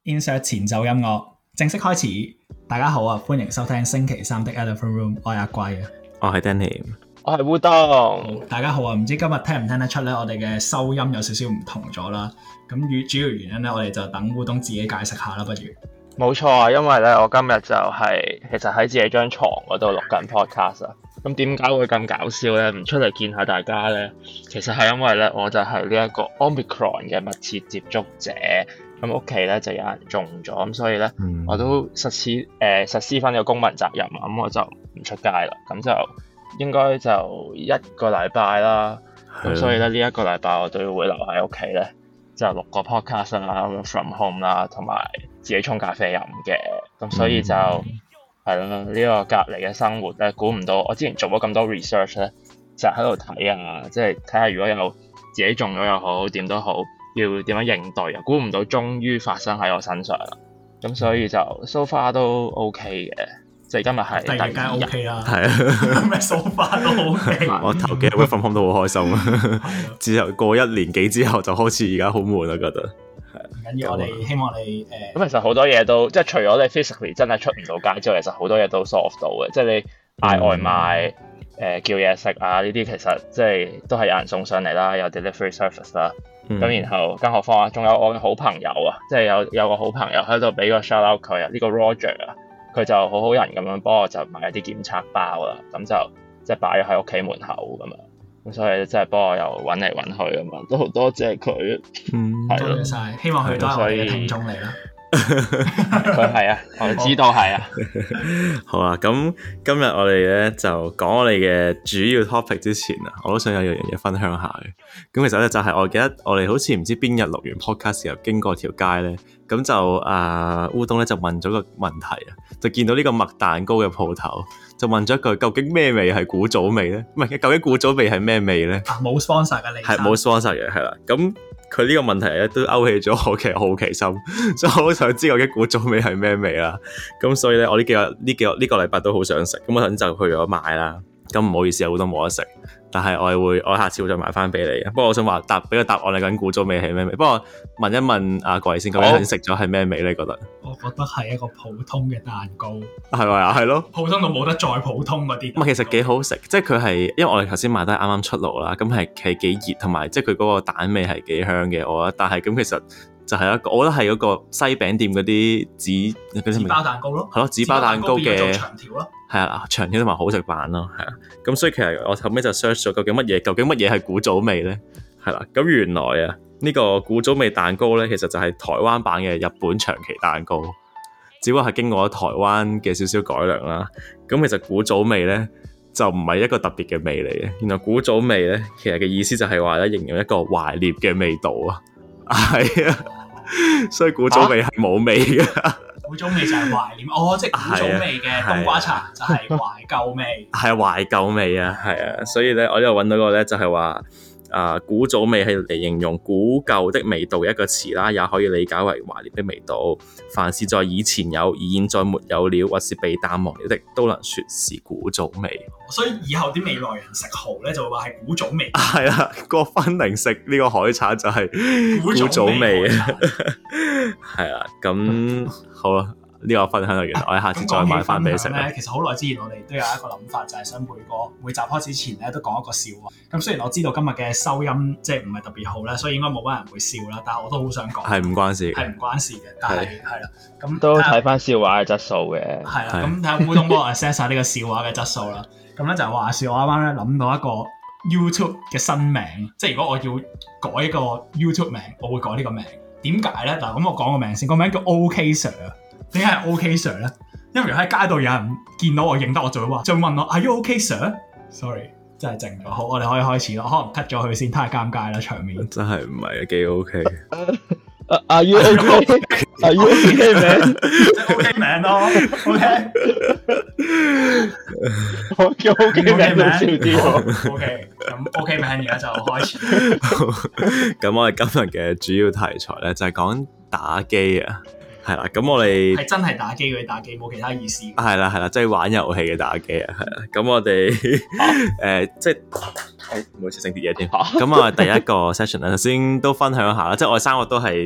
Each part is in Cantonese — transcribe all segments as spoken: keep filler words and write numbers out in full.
Insert 前奏音樂正式開始，大家好啊，歡迎收聽星期三的 Elephant Room， 我係阿貴啊， 我係 Danny， 我係烏冬。 大家好啊，唔知今日聽唔聽得出咧，我哋嘅收音有少少唔同咗啦。咁主要原因咧，我哋就等烏冬自己解釋下啦，不如。 冇錯啊，因為咧我今日就係、是、其實喺自己張床嗰度錄緊 podcast 啊。咁點解會咁搞笑咧？唔出嚟見下大家咧，其實係因為咧我就係呢一個 Omicron 嘅密切接觸者。咁屋企咧就有人中咗，咁所以咧、嗯、我都實施誒、呃、實施翻呢個公民責任啊，咁我就唔出街啦，咁就應該就一個禮拜啦，咁所以咧呢一、這個禮拜我都會留喺屋企咧，就錄個 podcast 啦 ，from home 啦，同埋自己沖咖啡飲嘅，咁所以就係咯呢個隔離嘅生活咧，估唔到我之前做咗咁多 research 咧，就喺度睇啊，即係睇下如果有自己中咗又好，點都好。要點樣應對啊？估唔到終於發生喺我身上啦，咁所以就 so far 都 OK 嘅，即係今日係第二日 OK 啦， 係啊， 咩 so far 都 OK。 我頭幾日 work from home 都好開心啊，之後過一年幾之後就開始而家好悶啊，覺得係唔緊要，我哋希望你誒。咁、 呃、其實好多嘢都即係除咗你 physically 真係出唔到街之外，其實好多嘢都 solve 到嘅，即係你嗌外賣、誒、嗯呃、叫嘢食啊呢啲，其實即係都係有人送上嚟啦，有 delivery service 啦。咁、嗯、然後更何況啊，仲有我嘅好朋友啊，即係有有個好朋友喺度俾個 shout out 佢啊，呢個 Roger 啊，佢就好好人咁樣幫我就買一啲檢測包啦，咁就即係擺咗喺屋企門口咁樣，咁所以即係幫我又揾嚟揾去咁樣，都好多謝佢。嗯，係咯， 多謝晒，希望佢都係我哋嘅聽眾嚟啦。 佢係啊，我哋知道係啊。 好啊，咁今日我哋咧就講我哋嘅主要 topic 之前啊，我都想有樣嘢分享下嘅。咁其實咧就係、是、我記得我哋好似唔知邊日錄完 podcast 時候經過條街咧，咁就啊烏冬咧就問咗個問題啊，就見到呢個麥蛋糕嘅鋪頭，就問咗一句究竟咩味係古早味咧？唔係，究竟古早味係咩味咧？ 啊，冇 sponsor 嘅你係冇 sponsor 嘅，係啦，咁。佢呢個問題咧都勾起咗我嘅好奇心，所以我好想知道究竟古早味係咩味啦。咁所以咧，我呢幾個呢幾個呢個禮拜都好想食，咁我等陣就去咗買啦。咁唔好意思，有好多冇得食，但係我係會，我下次會再買翻俾你。不過我想話答俾個答案，你究竟古早味係咩味？不過問一問阿貴先，究竟食咗係咩味咧？你覺得？ 我覺得係一個普通嘅蛋糕， 係咪啊？係咯， 普通到冇得再普通嗰啲。 唔係，其實幾好食，即係佢係，因為我哋頭先買得啱啱出爐啦，咁係係幾熱，同埋即係佢嗰個蛋味係幾香嘅，我覺得。但係咁其實就係一個，我覺得係嗰個西餅店嗰啲紙紙包蛋糕咯， 係咯，紙包蛋糕嘅長條咯。係啊，長條同埋好食版咯，係啊，咁所以其實我後尾就 search 咗究竟乜嘢，究竟乜嘢係古早味咧？係啦，咁原來啊呢個古早味蛋糕咧，其實就係台灣版嘅日本長期蛋糕，只不過係經過咗台灣嘅少少改良啦。咁其實古早味咧就唔係一個特別嘅味嚟嘅，原來古早味咧其實嘅意思就係話咧形容一個懷念嘅味道啊，係啊，所以古早味係冇味嘅。啊古早味就係懷念，哦，即係古早味嘅冬瓜茶就係懷舊味， 係懷舊味啊，係啊，所以咧我呢度揾到個咧就係話啊古早味係嚟形容古舊的味道一個詞啦，也可以理解為懷念的味道。凡是在以前有而現在沒有了，或是被淡忘了的，都能說是古早味。 所以以後啲未來人食蠔咧就會話係古早味。 係啊，郭芬玲食呢個海產就係古早味啊，係啊，咁好啦。呢、這個分享就完啦，我哋下次再買翻俾你食咧。 其實好耐之前我哋都有一個諗法，就係、是、想每個每集開始前咧都講一個笑話。咁雖然我知道今日嘅收音即係唔係特別好咧，所以應該冇乜人會笑啦。但係我都好想講，係唔關事，係唔關事嘅。但係係啦，咁都睇翻笑話嘅質素嘅。 係啦，咁睇下烏冬幫我 assess 下呢個笑話嘅質素啦。咁咧就係話笑，我啱啱咧諗到一個 YouTube 嘅新名，即係如果我要改一個 YouTube 名，我會改呢個名。點解咧？嗱，咁我講個名先，個名叫 OK Sir。點解係 OK Sir 咧？因為如果喺街度有人見到我認得我，就會話，就會問我 Are you OK Sir？Sorry， 真係靜咗。好，我哋可以開始咯。可能 cut 咗佢先，太尷尬啦場面。真係唔係幾 OK。 Are you OK？Are you OK 名？ 即係 OK 名咯。OK。 我叫 OK 名少啲。 OK，咁 OK 名而家就開始。 咁我哋今日嘅主要題材咧就係講打機啊。係啦，咁我哋係真係打機嗰啲打機，冇其他意思。 係啦係啦，即係玩遊戲嘅打機啊，係啦。咁我哋誒、呃、即係唔好意思整啲嘢添。咁我哋第一個 session 咧，首先都分享下啦，即係我哋三個都係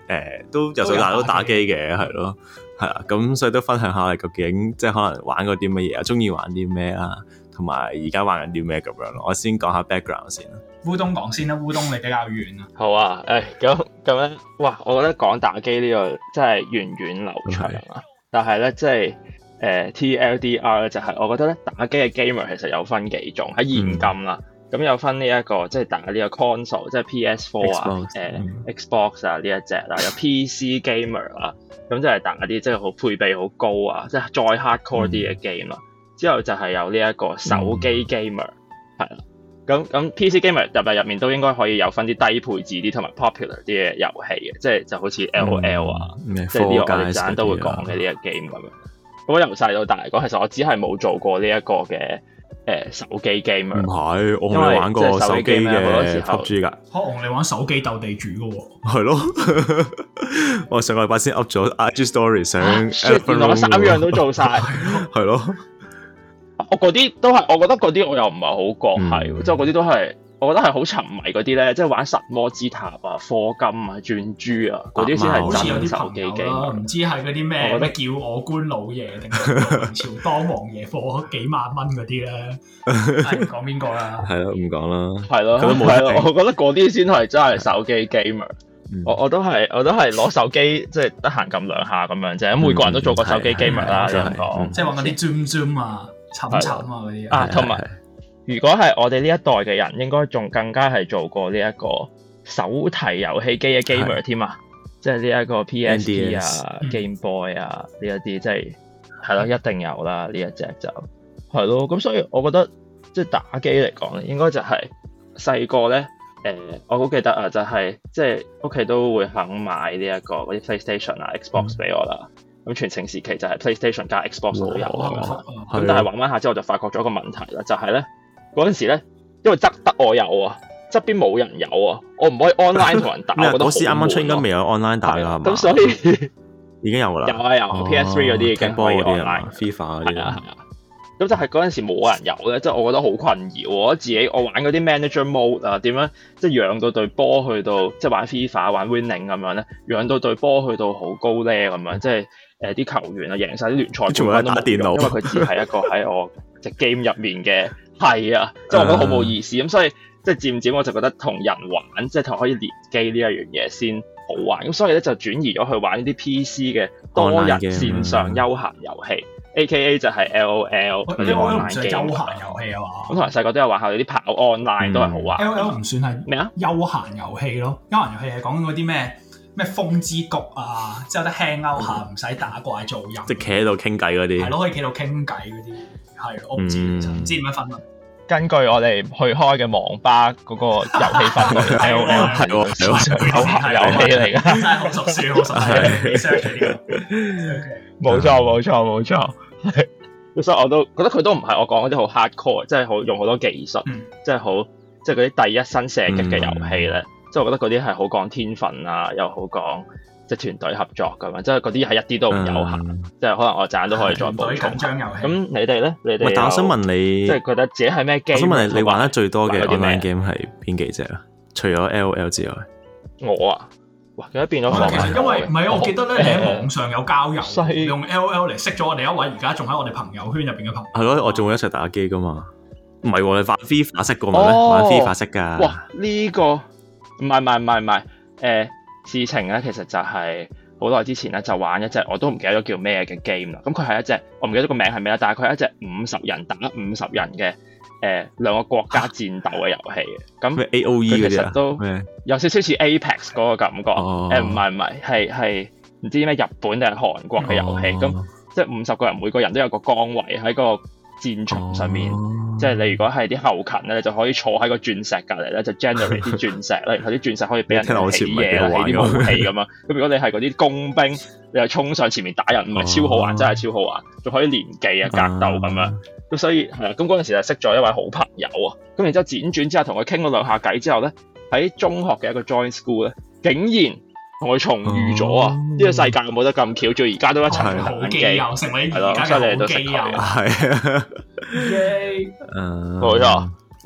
呃、都由細到大都打機嘅，係咯，係啊，咁所以都分享下究竟即係可能玩過啲乜嘢啊，中意玩啲咩啊，同埋而家玩緊啲咩咁樣咯。我先講下 background 先啦。 烏冬講先啦，烏冬你比較遠啊。 好啊，誒咁咁樣，哇！我覺得講打機呢個真係源遠流長啊。Okay. 但係咧，即係誒 T L D R 咧，就係我覺得咧打機嘅 gamer 其實有分幾種喺現今啦。咁、嗯、有分呢、這、一個即係打呢個 console，即係 P S four 啊、誒、呃嗯、Xbox 啊呢一隻啦，有 P C gamer 啦，咁就係打啲即係好配備好高啊，即係再 hardcore 啲嘅 game 啦。嗯、之後就係有呢一個手機 gamer 係啦。咁咁 P C gamer 入入入面都應該可以有分啲低配置啲同埋 popular 啲嘅遊戲嘅，即係就好似 L O L 啊，嗯、即係呢個我哋陣都會講嘅呢個 game 咁樣。咁我由細到大嚟講，其實我只係冇做過呢一個嘅誒、呃、手機 gamer。唔係，我冇玩過手機嘅 P U B G 㗎。可能你玩手機鬥地主嘅喎。係咯，我上個禮拜先 up 咗 I G Story 上。原來我三樣都做晒。係咯。我嗰啲都係，我覺得嗰啲我又唔係好覺係，即係嗰啲都係，我覺得係好沉迷嗰啲咧，即係玩神魔之塔啊、課金啊、轉珠啊嗰啲先係真手機機。唔知係嗰啲咩咩叫我官老爺定係明朝當王爺課幾萬蚊嗰啲咧？係講邊個啦？係咯，唔講啦。係咯，係咯，我覺得嗰啲先係真係手機 gamer。我我都係我都係攞手機即係得閒撳兩下咁樣啫。咁每個人都做過手機 gamer 啦，咁講。即係玩嗰啲 zoom zoom 啊。沉沉啊嗰啲啊，同埋如果係我哋呢一代嘅人，應該仲更加係做過呢一個手提遊戲機嘅 gamer 添啊，即係呢一個 P S P 啊、Game Boy 啊呢一啲，即係係咯，一定有啦呢一隻就係咯。咁所以我覺得即係打機嚟講咧，應該就係細個咧誒，我好記得啊，就係即係屋企都會肯買呢一個嗰啲 PlayStation 啊、Xbox 俾我啦。咁全盛時期就係 PlayStation 加 Xbox 都有咁樣，咁但係玩玩下之後就發覺咗一個問題啦，就係咧嗰陣時咧，因為側得我有啊，側邊冇人有啊，我唔可以 online 同人打。我覺得嗰時啱啱出應該未有 online 打㗎係嘛？咁所以已經有㗎啦。有啊有 ，P S three 嗰啲已經可以 online，FIFA 嗰啲啊。咁就係嗰陣時冇人有咧，即係我覺得好困擾。我覺得自己我玩嗰啲 manager mode 啊，點樣即係養到隊波去到即係玩 FIFA 玩 winning 咁樣咧，養到隊波去到好高咧咁樣，即係。誒啲、呃、球員啊，贏晒啲聯賽冠軍都冇用，因為佢只係一個喺我隻 game 入面嘅係啊，即係我覺得好冇意思咁，所以即係漸漸我就覺得同人玩，即係同可以連機呢一樣嘢先好玩，咁所以咧就轉移咗去玩呢啲 P C 嘅多人線上休閒遊戲 ，A K A 就係 L O L 嗰啲 online game。休閒遊戲啊嘛，咁同埋細個都有玩下啲跑 online、嗯、都係好玩。L O L 唔算係咩啊？休閒遊戲咯，休閒遊戲係講嗰啲咩？咩風之谷啊，之後得 hang out 下，唔使打怪做人，即係企喺度傾偈嗰啲，係咯，可以企喺度傾偈嗰啲，係我唔知，唔、嗯、知點樣分啊。根據我哋去開嘅網吧嗰個遊戲分類，L O L 係喎，係喎，休閒遊戲嚟㗎，真係好熟書，好熟書 research 呢個，冇錯冇錯冇錯，所以我都覺得佢都唔係我講嗰啲好 hardcore，即係好用好多技術，即係好即係嗰啲第一身射擊嘅遊戲咧。嗯即係我覺得嗰啲係好講天分啊，又好講即係團隊合作咁樣，即係嗰啲係一啲都唔悠閒，嗯、即係可能我陣都可以再補充。咁你哋咧？你哋但我想問你，即係覺得自己係咩 game？我想問你，你玩得最多嘅 online game 係邊幾隻啊？除咗 L O L 之外，我啊，哇！而家變咗其實因為唔係啊，我記得咧，你喺網上有交友，呃、用 L O L 嚟識咗我哋一位而家仲喺我哋朋友圈入邊嘅朋友。係咯，我仲會一齊打機噶嘛？唔係喎，你玩 FIFA 識過咩？哦、玩 FIFA 識㗎？哇！呢、呢個唔係唔係唔係唔係，誒、呃、事情咧其實就係好耐之前咧就玩一隻我都唔記得咗叫咩嘅 game 啦。咁佢係一隻我唔記得個名係咩啦，但係佢係一隻五十人打五十人嘅誒、呃、兩個國家戰鬥嘅遊戲嘅。咁 A O E 嗰啲啊，其實都有少少似 Apex 嗰個感覺。誒唔係唔係，係係唔知咩日本定係韓國嘅遊戲。咁、哦、即係五十個人，每個人都有個崗位喺個戰場上面，哦、即係你如果係啲後勤咧，你就可以坐喺個鑽石隔離咧，就 generate 啲鑽石啦，然後啲鑽石可以俾人起嘢、起啲武器咁啊。咁如果你係嗰啲工兵，你就衝上前面打人，唔係超好玩，哦、真係超好玩，仲可以連技啊、格鬥咁樣。咁所以係啊，咁嗰陣時就識咗一位好朋友啊。咁然之後輾轉之後同佢傾咗兩下偈之後咧，喺中學嘅一個 join school 咧，竟然同佢重遇咗啊！呢、哦、個世界冇得咁巧，最而家都一齊打機，係咯，所以你哋都識佢。係啊，冇錯。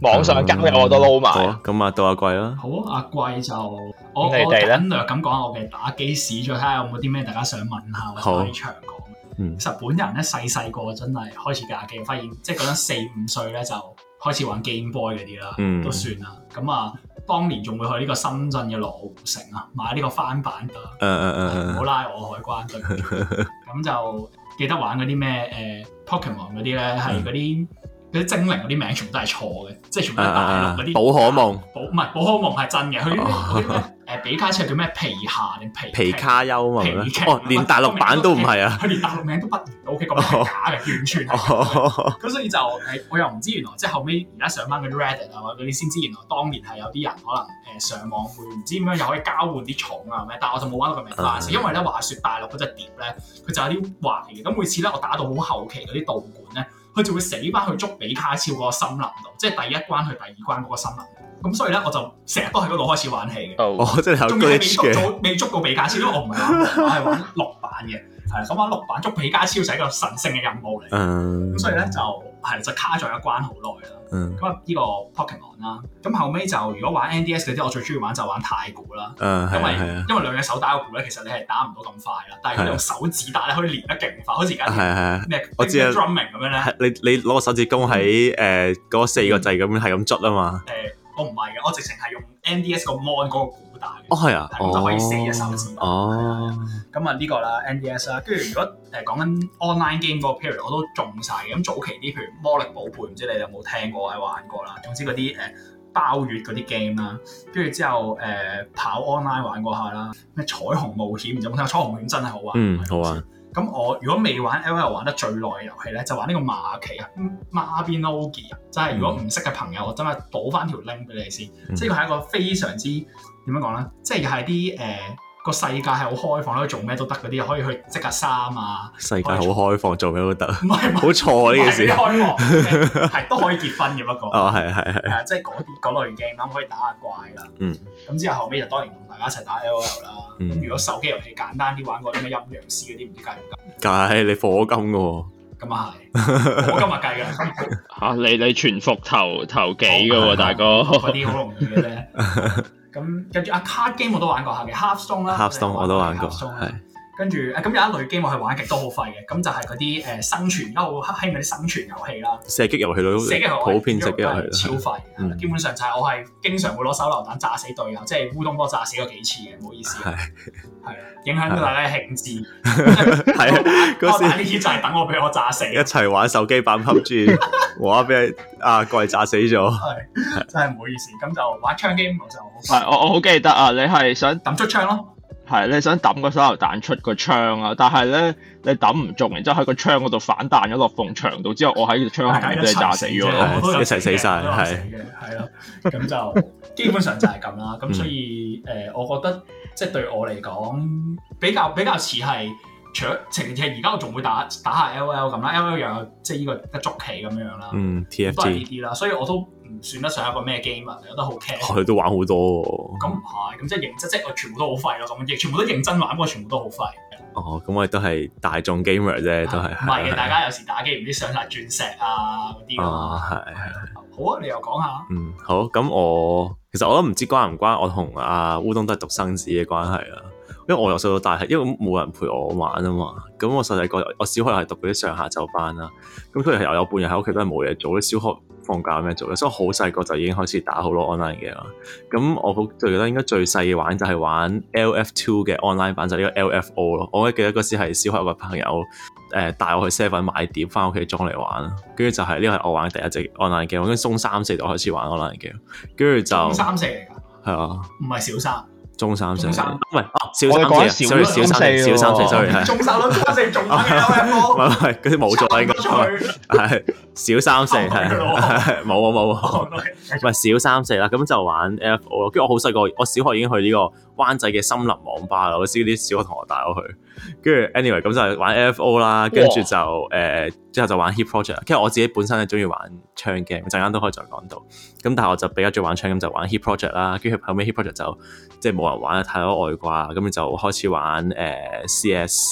網上交友我都撈埋。 好啊，咁啊到阿貴啦。 好啊，阿貴就我我你哋咧簡略咁講下我嘅打機史，再睇下有冇啲咩大家想問下或者可以長講。 嗯， 其實本人咧細細個真係開始打機，發現即係嗰陣四五歲咧就開始玩 Game Boy 嗰啲啦， 嗯、 都算啦。咁啊，當年仲會去呢個深圳嘅羅湖城啊買呢個翻版㗎。 誒誒誒， 唔好拉我海關對。咁就記得玩嗰啲咩誒 Pokemon 嗰啲咧，係嗰啲嗰啲精靈嗰啲名全部都係錯嘅，即係全部都係大陸嗰啲。 寶可夢， 寶唔係寶可夢係真嘅，佢啲咩誒比卡超叫咩皮夏定皮皮卡丘嘛？ 皮哦，連大陸版都唔係啊！ 佢連大陸名都不如，O K 咁係假嘅，完全係。咁所以就誒，我又唔知原來即係後尾而家上翻嗰啲 Reddit 啊或者嗰啲先知，原來當年係有啲人可能誒上網會唔知點樣又可以交換啲寵啊咩，但係我就冇玩到咁明花式，因為咧話説大陸嗰隻碟咧，佢就有啲壞嘅，咁每次咧我打到好後期嗰啲道館咧，佢就會死翻去捉比卡超嗰個森林度，即係第一關去第二關嗰個森林。咁所以咧，我就成日都喺嗰度開始玩起嘅。 哦，即係有 glitch 嘅。仲要係未捉到未捉到比卡超，因為我唔係玩，我係玩綠版嘅。係咁玩綠版捉比卡超就係一個神聖嘅任務嚟。嗯。咁所以咧就係就卡咗一關好耐啦。嗯。咁啊呢個 Pokemon 啦，咁後尾就如果玩 N D S 嗰啲，我最中意玩就玩太鼓啦。嗯，因為因為兩隻手打個鼓咧，其實你係打唔到咁快啦。但係佢用手指打咧，可以練得勁快，好似而家啲咩我知 drumming 咁樣咧。 你你攞個手指公喺誒嗰四個掣咁樣係咁捽啊嘛。 誒。我唔係嘅，我直情係用 N D S 個 mon 嗰個鼓打嘅。 哦，係啊， 咁就可以四隻手指。 哦。 咁啊呢個啦 N D S 啦，跟住如果誒講緊 online game 嗰個 period 我都中晒嘅。咁早期啲譬如魔力寶貝，唔知你哋有冇聽過或者玩過啦。總之嗰啲誒包月嗰啲 game 啦，跟住之後誒、呃、跑 online 玩過下啦。咩彩虹冒險，唔知有冇聽過？彩虹冒險真係好玩。 嗯，好玩。咁我如果未玩 L O L 玩得最耐嘅遊戲咧，就玩呢個馬奇啊 Mabinogi 啊，即係如果唔識嘅朋友，我真係補翻條 link 俾你先。嗯、即係佢係一個非常之點樣講咧，即係係啲誒個世界係好開放，可以做咩都得嗰啲，可以去織下衫啊。 世界好開放，做咩都得。 唔係， 好錯啊呢件事。 開放係都可以結婚嘅不過。 哦，係係係。 係即係嗰啲嗰類 game 咁可以打下怪啦。嗯。咁之後後尾就當然同大家一齊打 L O L 啦。咁、嗯、如果手機遊戲簡單啲，玩過啲咩陰陽師嗰啲，唔知計唔計？ 計，你課金嘅喎。 咁啊係，我今日計嘅。 嚇你你全服頭頭幾嘅喎，大哥。 嗰啲好容易嘅啫。咁跟住啊 card game 我都玩過下嘅 Hearthstone 啦 Hearthstone 我都玩過。 係。跟住誒咁有一類 game 我係玩極都好廢嘅，咁就係嗰啲誒生存，而家好興嗰啲生存遊戲啦。 射擊遊戲都射擊遊戲普遍射擊遊戲超廢，嗯、基本上就係我係經常會攞手榴彈炸死隊友，即係烏冬波炸死過幾次嘅，唔好意思。係係影響到大家嘅興致。係啊，嗰時呢啲就係等我俾我炸死。一齊玩手機版 P U B G， 哇！俾阿貴炸死咗。 係真係唔好意思，咁就玩槍 game 我就係我我好記得啊！你係想抌出槍咯。 係你想抌個手榴彈出個窗啊，但係咧你抌唔中，然之後喺個窗嗰度反彈咗落埲牆度，之後我喺個窗下面俾你炸死咗， 一齊死晒，係係咯，咁就基本上就係咁啦。咁所以誒、呃，我覺得即係對我嚟講比較比較似係，除咗情其實而家我仲會打打下 L O L 咁啦 ，L O L 又有即係呢個一捉棋咁樣啦， 嗯 ，T F T 都係呢啲啦，所以我都唔算得上一個咩 game 啊，我覺得好 care。 佢都玩好多喎。 咁唔係，咁即係認真，即係我全部都好廢咯，咁亦全部都認真玩，不過全部都好廢。 哦，咁我哋都係大眾 gamer 啫，都係。 唔係嘅，大家有時打機唔知上晒鑽石啊嗰啲㗎嘛。係係。好啊，你又講下。嗯， 好。咁我其實我都唔知關唔關我同阿烏冬都係獨生子嘅關係啦。因為我由細到大係因為冇人陪我玩啊嘛，咁我細細個我小學又係讀嗰啲上下晝班啦，咁所以係有半日喺屋企都係冇嘢做，啲小學放假有咩做咧，所以我好細個就已經開始打好多 online 嘅啦。咁我好最記得應該最細嘅玩就係玩 L F two 嘅 online 版，就係呢個 L F O 咯。我記得嗰時係小學有個朋友誒帶我去 seven 買碟翻屋企裝嚟玩，跟住就係呢個係我玩第一隻 online game，跟住中三四就開始玩 online game，跟住就中三四嚟㗎， 係啊，唔係小三。 中三四，唔係哦， 小三四，sorry， 小三四，小三四，sorry，係。 中三咯，中三四仲玩嘅 L F O， 唔係唔係，嗰啲冇咗啦，應該係小三四，係冇冇冇冇，唔係小三四啦，咁就玩 L F O 咯。跟住我好細個，我小學已經去呢個灣仔嘅森林網吧啦，我知啲小學同學帶我去。跟住 anyway 咁就係玩 L F O 啦，跟住就誒之後就玩 Hit Project。跟住我自己本身係中意玩槍 game，陣間都可以再講到。咁但係我就比較中意玩槍 game，就玩 Hit Project 啦。跟住後尾 Hit Project 就即係冇人玩得太多外掛，咁就開始玩誒、呃、C S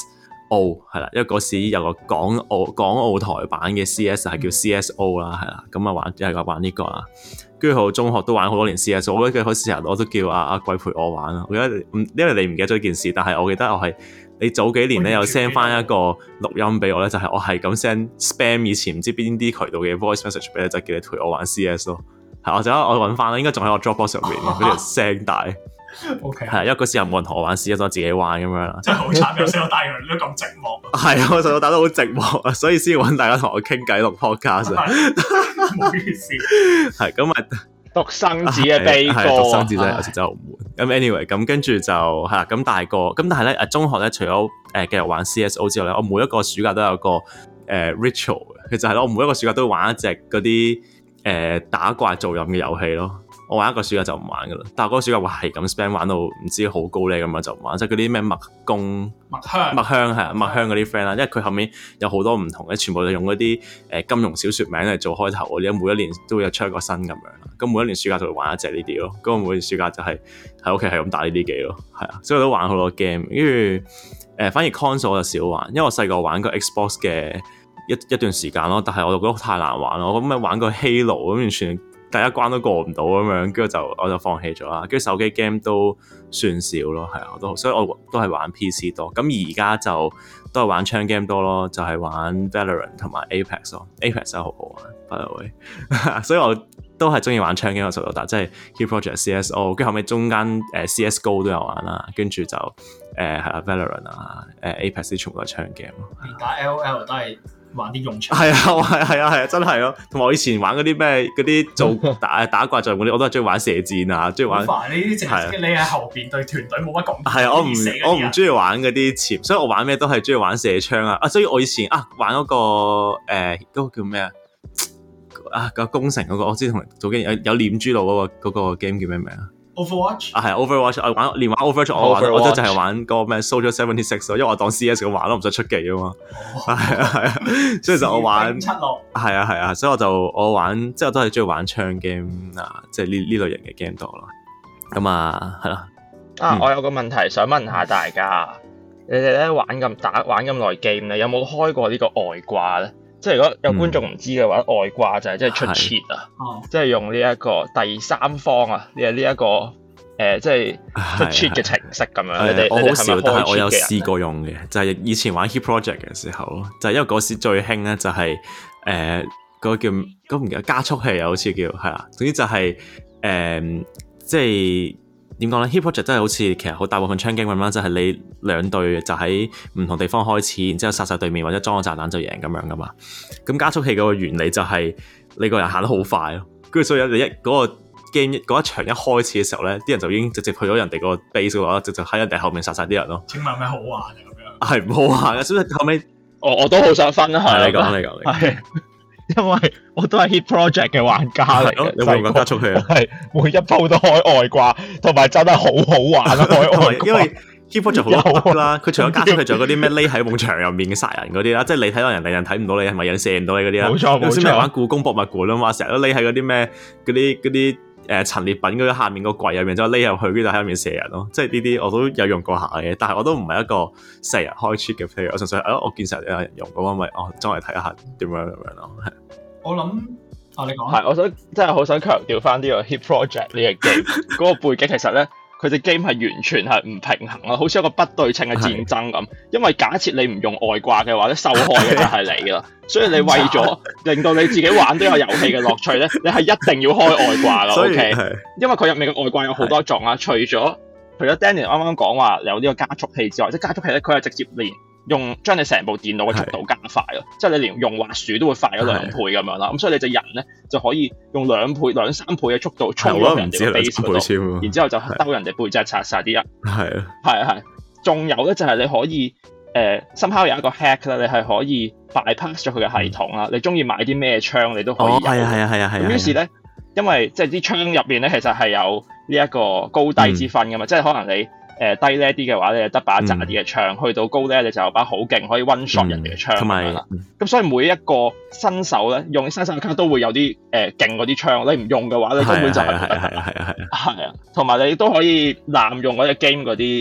O 係啦，因為嗰時有個港澳港澳台版嘅 C S 係叫 C S O 啦，係啦，咁啊玩又係玩呢個啦。跟住去到中學都玩好多年 C S， 我記得嗰時候我都叫阿阿貴陪我玩啦。我記得唔因為你唔記得咗件事，但係我記得我係你早幾年咧有 send 翻一個錄音俾我咧，就係、是、我係咁 send spam 以前唔知邊啲渠道嘅 voice message 俾你，就叫你陪我玩 C S 咯。係，我就我揾翻啦，應該仲喺我 Dropbox 上面嗰條聲帶。 O K， 係因為嗰時候冇人同我玩 C S， 我自己玩咁樣啦。 真係好慘，由細到大原來都咁寂寞。 係啊，我細到大都好寂寞啊，所以先揾大家同我傾偈錄 podcast 啊。 唔好意思。係咁啊。獨生子嘅悲歌， 獨生子真係有時真係好悶。咁 anyway， 咁跟住就係啦。咁大個，咁但係咧，誒中學咧，除咗誒繼續玩 C S O 之外咧，我每一個暑假都有個誒、呃、ritual，其實係咯，我每一個暑假都會玩一隻嗰啲誒打怪做任嘅遊戲咯。我玩一個暑假就唔玩噶啦，但係嗰個暑假我係咁 spam 玩到唔知好高咧咁樣就唔玩，即係嗰啲咩麥公、 麥香、 麥香係啊，麥香嗰啲 friend 啦，因為佢後面有好多唔同嘅，全部都用嗰啲誒金庸小説名嚟做開頭嗰啲，每一年都會有出一個新咁樣啦。咁每一年暑假就會玩一隻呢啲咯。咁我每年暑假就係喺屋企係咁打呢啲機咯，係啊，所以我都玩好多 game。跟住誒，反而 console 我就少玩，因為我細個玩過 Xbox 嘅一一段時間咯，但係我就覺得太難玩咯。我咁咪玩過 Halo 咁完全。第一關都過唔到咁樣，跟住就我就放棄咗啦。跟住手機 game 都算少咯，係啊，我都所以我都係玩 P C 多。咁而家就都係玩槍 game 多咯，就係、是、玩 Valorant 同埋 Apex 咯。Apex 真係好好玩，by the way。所以我都係中意玩槍 game 嘅時候，但即係 Hit Project C S O， 跟住後尾中間誒、呃、C S G O 都有玩啦，跟住就誒係啦 Valorant 啊，誒、呃、Apex 啲全部都係槍 game 咯。 連打 L O L 都係。玩啲用槍係啊，係係啊，係啊，真係咯。同埋我以前玩嗰啲咩嗰啲做打打怪仗嗰啲，我都係中意玩射箭啊，中意玩。 煩呢啲淨係你喺後邊對團隊冇乜講。 係啊，我唔我唔中意玩嗰啲潛，所以我玩咩都係中意玩射槍啊。啊，所以我以前啊玩嗰、嗰個誒嗰、呃嗰個叫咩啊啊個攻城嗰、嗰個，我知同早幾年有有念珠路嗰個嗰個 game 叫咩名啊？ Overwatch 啊係 Overwatch， 我玩連玩 Overwatch， 我玩 Overwatch 我都就係玩嗰個咩 Soldier seventy six 咯，因為我當 C S 咁玩咯，唔使出技啊嘛。係啊係啊，所以就我玩七六。係啊係啊，所以我就我玩即係我都係中意玩槍 game 啊，即係呢呢類型嘅 game 多咯。咁啊係啦。 啊，我有個問題想問下大家，你哋咧玩咁打玩咁耐 game 咧，有冇開過呢個外掛咧？即係如果有觀眾唔知嘅話，嗯、外掛就係即係出 cheat 啊，即係用呢一個第三方啊，呢呢一個誒、呃，即係出 cheat 嘅程式咁樣。你哋我好少，但係我有試試過用嘅，就係、是、以前玩 Hit Project 嘅時候咯，就係、是、因為嗰時最興咧就係誒嗰個叫嗰唔記得加速器啊，好似叫係啦，總之就係、是、誒、呃、即係。點講咧 ？Hit Project 真係好似其實好大部分槍 game 咁啦，就係、是、你兩隊就喺唔同地方開始，然之後殺晒對面或者裝個炸彈就贏咁樣噶嘛。咁加速器嗰個原理就係你個人行得好快咯，跟住所以你一嗰、那個 game 嗰一場一開始嘅時候咧，啲人就已經直接去咗人哋個 base 嗰度，直接喺人哋後面殺晒啲人咯。 請問有咩好玩啊？咁樣係唔好玩嘅，所以後尾我我都好想分享。 係你講你講你講。 因為我都係 Hit Project 嘅玩家嚟嘅， 你會唔會加速器啊？ 係每一鋪都開外掛，同埋真係好好玩啊！開外掛， 因為 Hit Project 好多 bug 啦，佢除咗加速器，仲有嗰啲咩匿喺埲牆入面嘅殺人嗰啲啦，即係你睇到人哋人睇唔到你，係咪人射唔到你嗰啲啦？ 冇錯冇錯。 有時咪玩故宮博物館啊嘛，成日都匿喺嗰啲咩嗰啲嗰啲誒陳列品嗰啲下面個櫃入面，之後匿入去，跟住喺入面射人咯。即係呢啲我都有用過下嘅，但係我都唔係一個成日開 cheat 嘅 player，我純粹係我見成日有人用咁，咪哦，裝嚟睇下點樣咁樣咯。 我諗啊，你講係，我想真係好想強調翻呢個 Hit Project 呢個 game 嗰個背景，其實咧佢隻 game 係完全係唔平衡咯，好似一個不對稱嘅戰爭咁。因為假設你唔用外掛嘅話咧，受害嘅就係你啦。所以你為咗令到你自己玩呢個遊戲嘅樂趣咧，你係一定要開外掛咯。OK，因為佢入面嘅外掛有好多種啊，除咗除咗 Danny 啱啱講話有呢個加速器之外，即係加速器咧，佢係直接連用將你成部電腦嘅速度加快咯，即係你連用滑鼠都會快咗兩倍咁樣啦。咁所以你隻人咧就可以用兩倍、兩三倍嘅速度衝入人哋嘅 base 嗰度，然之後就兜人哋背脊殺晒啲人。係啊，係啊係。仲有咧就係你可以誒 somehow 有一個 hack 咧，你係可以 bypass 咗佢嘅系統啦。你中意買啲咩槍，你都可以有。係啊係啊係啊係。咁於是咧，因為即係啲槍入邊咧，其實係有呢一個高低之分噶嘛，即係可能你。誒低呢啲嘅話，你就得把渣啲嘅槍，嗯、去到高咧，你就有把好勁可以 one shot 人哋嘅槍咁樣啦。咁所以每一個新手咧，用新手卡都會有啲誒勁嗰啲槍，你唔用嘅話，你根本就係唔得。係啊係啊係啊係啊。係啊，同埋你都可以濫用嗰隻 game 嗰啲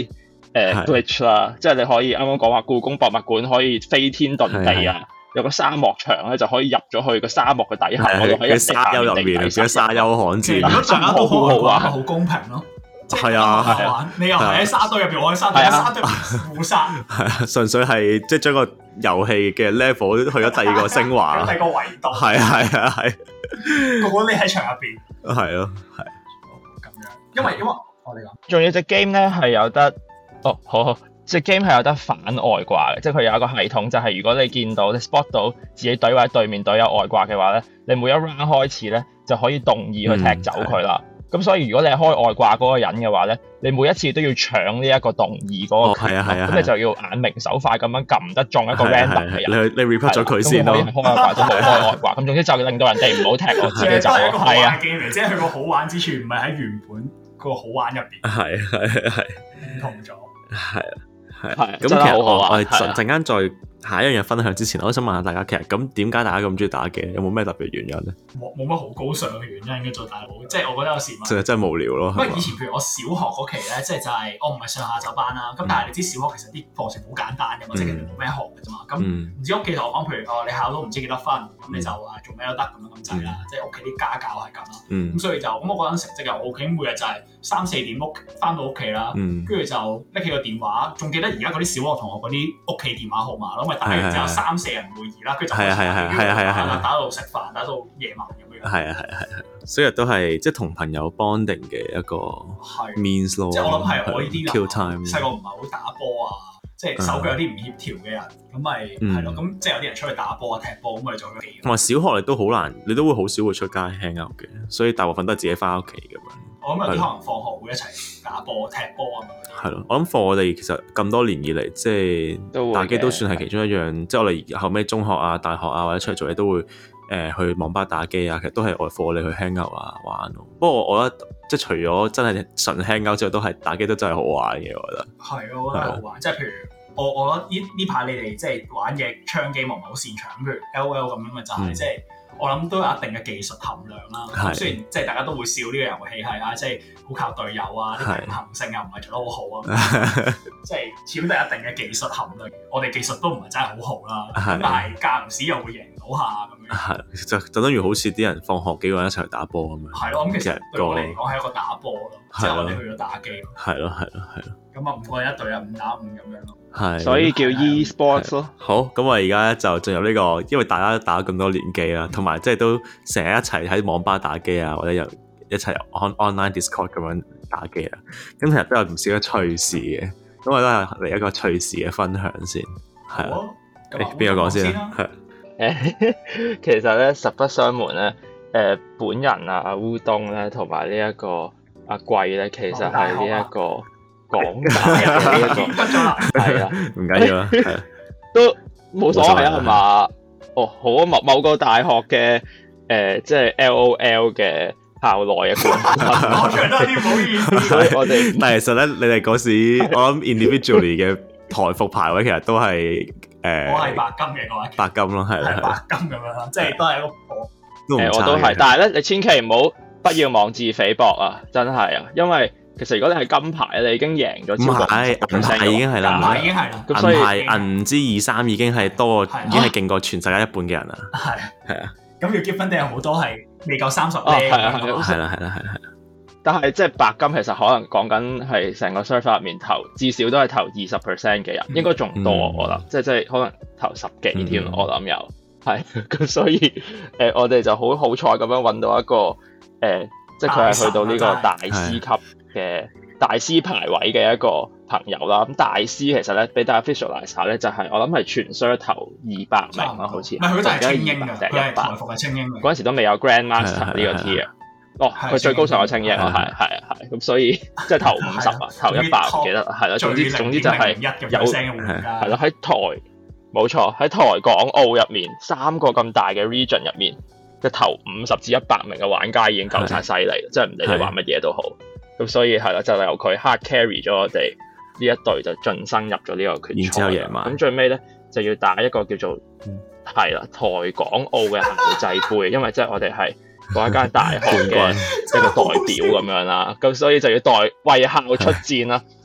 誒 glitch 啦，即係你可以啱啱講話故宮博物館可以飛天遁地啊，有個沙漠場咧就可以入咗去個沙漠嘅底下，我哋喺沙丘入面，而家沙丘罕至， 大家都好好玩，好公平咯。 係啊，係啊， 你又係喺沙堆入邊，我喺沙堆，沙堆互殺。係啊，純粹係即係將個遊戲嘅 level 去咗第二個升華， 第二個維度。係啊，係啊，係。 個個匿喺牆入邊。 係咯，係。 咁樣，因為因為我哋講， 仲要隻 game 咧係有得，哦，好好，隻 game 係有得反外掛嘅，即係佢有一個系統，就係如果你見到你 spot 到自己隊或者對面隊有外掛嘅話咧，你每一 round 開始咧就可以動議去踢走佢啦。咁、嗯、所以如果你係開外掛嗰個人嘅話咧，你每一次都要搶呢一個動議嗰個，係啊係啊，咁你就要眼明手快咁樣撳得中一個 random 嘅人，你你 report 咗佢先咯。咁可以開外掛都冇開外掛，咁總之就令到人哋唔好踢我自己走。係一個好玩嘅 game 嚟，即係佢個好玩之處唔係喺原本個好玩入邊，係係係唔同咗，係啊係。咁其實我我哋陣間再下一樣嘢分享之前，我都想問下大家，其實咁點解大家咁中意打機？有冇咩特別原因咧？冇冇乜好高尚嘅原因嘅做大佬，即係我覺得有時就係真係無聊咯。因為以前譬如我小學嗰期咧，即係就係我唔係上下晝班啦，咁但係你知小學其實啲課程好簡單嘅嘛，即係其實冇咩學嘅啫嘛。咁唔知屋企同我講，譬如哦你考到唔知幾多分，咁你就話做咩都得咁樣咁滯啦。即係屋企啲家教係咁啦。咁所以就咁我嗰陣成績又 OK，每日就係三四點屋翻到屋企啦，跟住就拎起個電話，仲記得而家嗰啲小學同學嗰啲屋企電話號碼咯，因為大家之後三四人會議啦，佢就係啊係啊係啊係啊，打到食飯，打到夜晚咁樣。係啊係啊係啊，所以都係即係同朋友 bonding 嘅一個 means 咯。即係我諗係我呢啲人細個唔係好打波啊，即係手腳有啲唔協調嘅人，咁咪係咯。咁即係有啲人出去打波啊、踢波咁咪做咗幾。同埋小學你都好難，你都會好少會出街 hang out 嘅，所以大部分都係自己翻屋企咁樣。我諗有啲可能放學會一齊打波、踢波咁樣。係咯，我諗放我哋其實咁多年以嚟，即係打機都算係其中一樣。即係我哋後尾中學啊、大學啊或者出嚟做嘢都會誒、呃、去網吧打機啊。其實都係外課你去 hang out 啊玩咯。不過我覺得即係除咗真係純 hang out 之外，都係打機都真係好玩嘅。我覺得係啊，我覺得好玩。即係譬如我我覺得呢呢排你哋即係玩嘅槍機，我唔係好擅長。譬如 L O L 咁樣嘅就係、是嗯、即係。我諗都有一定嘅技術含量啦。雖然即係大家都會笑呢個遊戲係啊，即係好靠隊友啊，啲平衡性又唔係做得好好啊。即係始終都有一定嘅技術含量。我哋技術都唔係真係好好啦。咁但係間唔時又會贏到下咁樣。係就就等於好似啲人放學幾個人一齊去打波咁樣。係咯，咁其實對我嚟講係一個打波咯，即係我哋去咗打機。係咯係咯係咯。咁啊五個人一隊啊，五打五咁樣咯。係，所以叫 e-sports 咯。好，咁我而家就進入呢個，因為大家都打咗咁多年機啦，同埋即係都成日一齊喺網吧打機啊，或者又一齊 on online Discord 咁樣打機啊。咁其實都有唔少嘅趣事嘅，咁我都係嚟一個趣事嘅分享先。係啊，誒邊個講先啊？係誒，其實咧實不相瞞咧，誒本人啊烏冬咧，同埋呢一個阿貴咧，其實係呢一個。港大嘅呢一個係啊，唔緊要啦，都冇所謂啊，係嘛？哦，好啊，某某個大學嘅誒，即係 L O L 嘅校內嘅冠軍，我唱得有啲唔好意思。我哋但係其實咧，你哋嗰時我諗 individually 嘅台服排位其實都係誒，我係白金嘅嗰一期，白金咯，係係白金咁樣啦，即係都係一個誒，我都係。但係咧，你千祈唔好不要妄自菲薄啊！真係啊，因為。其實如果你係金牌，你已經贏咗超過五十 percent，銀牌已經係啦，銀牌已經係啦，咁所以銀牌銀之二三已經係多，已經係勁過全世界一半嘅人啦。係係啊，咁要結分定有好多係未夠三十咧。係啊係啦係啦係啦。但係即係白金其實可能講緊係成個 server 入面投至少都係投二十 percent 嘅人，應該仲多我覺得，即係即係可能投十幾添，我諗有係咁，所以誒我哋就好好彩咁樣揾到一個誒，即係佢係去到呢個大師級嘅大師排位嘅一個朋友啦，咁大師其實咧俾大家 visualize 下咧，就係、是、我諗係全 server 頭二百名啦，好似唔係佢就係精英嘅，佢係台服嘅精英嘅。嗰陣時都未有 Grandmaster 呢個 tier，哦，佢最高上有精英啊，係係啊係，咁所以即係頭五十啊，頭一百唔記得係啦，總之總之就係有係咯，喺台冇錯喺台港澳入面三個咁大嘅 region 入面嘅頭五十至一百名嘅玩家已經夠晒犀利，即係唔理你玩乜嘢都好。咁所以係啦，就由佢 hard carry 咗我哋呢一隊就晉身入咗呢個決賽。咁最尾咧就要打一個叫做係啦、嗯、台港澳嘅校際杯，因為即係我哋係嗰一間大學嘅一個代表咁樣啦。咁所以就要代為校出戰啦。